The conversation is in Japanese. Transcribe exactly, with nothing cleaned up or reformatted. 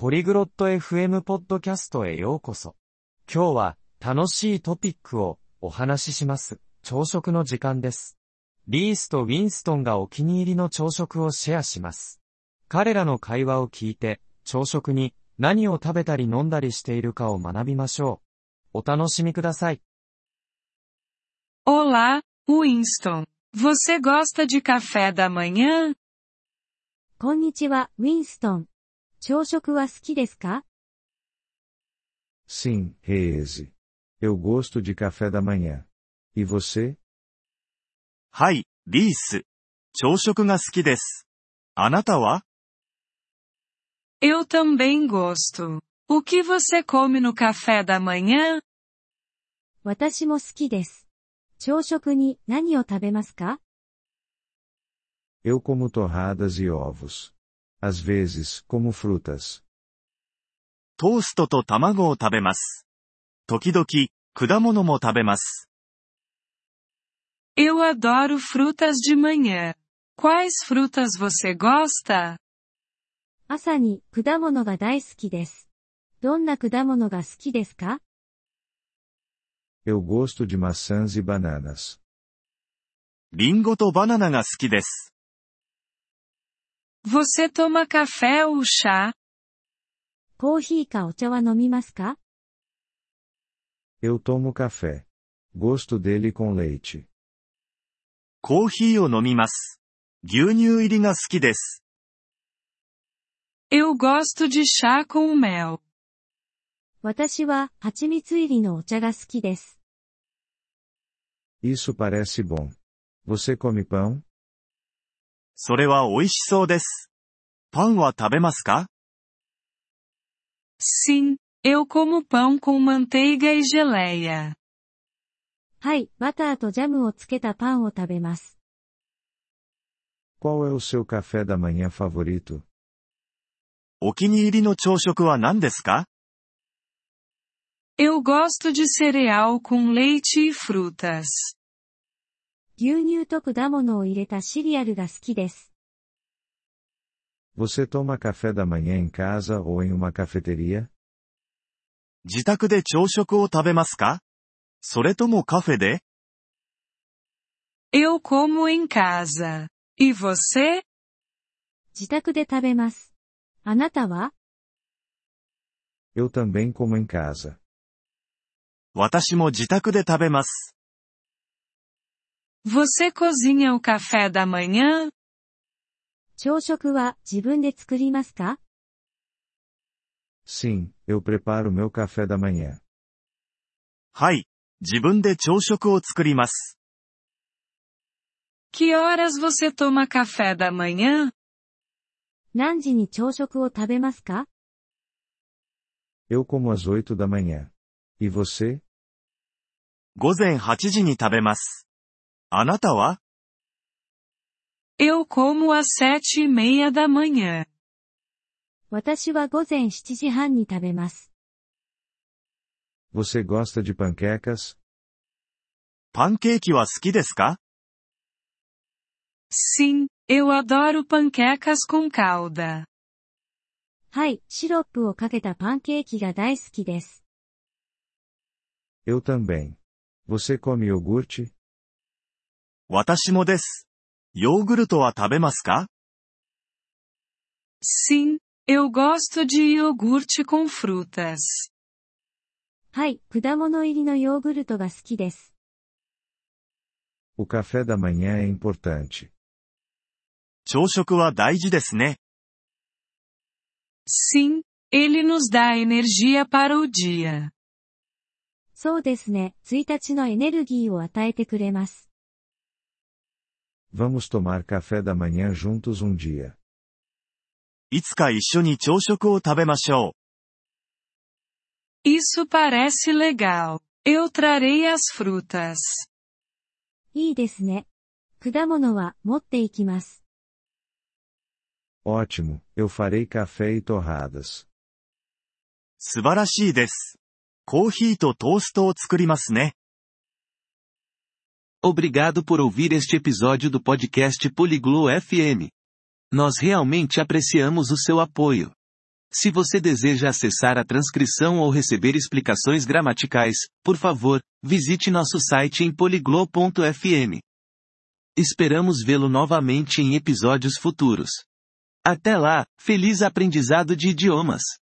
ポリグロット エフエム ポッドキャストへようこそ。今日は楽しいトピックをお話しします。朝食の時間です。リースとウィンストンがお気に入りの朝食をシェアします。彼らの会話を聞いて、朝食に何を食べたり飲んだりしているかを学びましょう。お楽しみください。 Olá, Winston. Você gosta de café da manhã? こんにちは、ウィンストン。朝食は好きですか？ Sim, Reese. Eu gosto de café da manhã. E você? はい、リース。朝食が好きです。あなたは？ Eu também gosto. O que você come no café da manhã? 私も好きです。朝食に何を食べますか？ Eu como torradas e ovos. Às vezes, como frutas. トーストと卵を食べます。時々、果物も食べます。 Eu adoro frutas de manhã. Quais frutas você gosta? 朝に果物が大好きです。どんな果物が好きですか？ Eu gosto de maçãs e bananas. リンゴとバナナが好きです。 Você toma café ou chá? コーヒーかお茶は飲みますか？ Eu tomo café. Gosto dele com leite. コーヒーを飲みます。牛乳入りが好きです。 Eu gosto de chá com mel. 私は蜂蜜入りのお茶が好きです。 Isso parece bom. Você come pão? それは美味しそうです。パンは食べますか？ Sim, eu como pão com manteiga e geleia. はい、バターとジャムをつけたパンを食べます。 Qual é o seu café da manhã favorito? お気に入りの朝食は何ですか？ Eu gosto de cereal com leite e frutas. 牛乳と果物を入れたシリアルが好きです。 Você toma café da manhã em casa ou em uma cafeteria? 自宅で朝食を食べますか？それともカフェで？ Eu como em casa. E você? 自宅で食べます。あなたは？ Eu também como em casa. 私も自宅で食べます。 Você cozinha o café da manhã? 朝食は自分で作りますか？ Sim, eu preparo meu café da manhã. はい、自分で朝食を作ります。 Que horas você toma café da manhã? 何時に朝食を食べますか？ Eu como às oito da manhã. E você? 午前はちじに食べます。あなたは？ Eu como às sete e meia da manhã. 私は午前しちじはんに食べます。 Você gosta de panquecas? パンケーキは好きですか？ Sim, eu adoro panquecas com calda. はい、シロップをかけたパンケーキが大好きです。 Eu também. Você come iogurte? 私もです。ヨーグルトは食べますか？ Sim, eu gosto de iogurte com frutas. はい、果物入りのヨーグルトが好きです。 O café da manhã é importante. 朝食は大事ですね。 Sim, ele nos dá energia para o dia. そうですね、いちにちのエネルギーを与えてくれます。 Vamos tomar café da manhã juntos um dia. いつか一緒に朝食を食べましょう。 Isso parece legal. Eu trarei as frutas. いいですね。果物は持っていきます。 Ótimo, eu farei café e torradas. 素晴らしいです。コーヒーとトーストを作りますね。 Obrigado por ouvir este episódio do podcast Poliglo F M. Nós realmente apreciamos o seu apoio. Se você deseja acessar a transcrição ou receber explicações gramaticais, por favor, visite nosso site em poliglo ponto f m. Esperamos vê-lo novamente em episódios futuros. Até lá, feliz aprendizado de idiomas!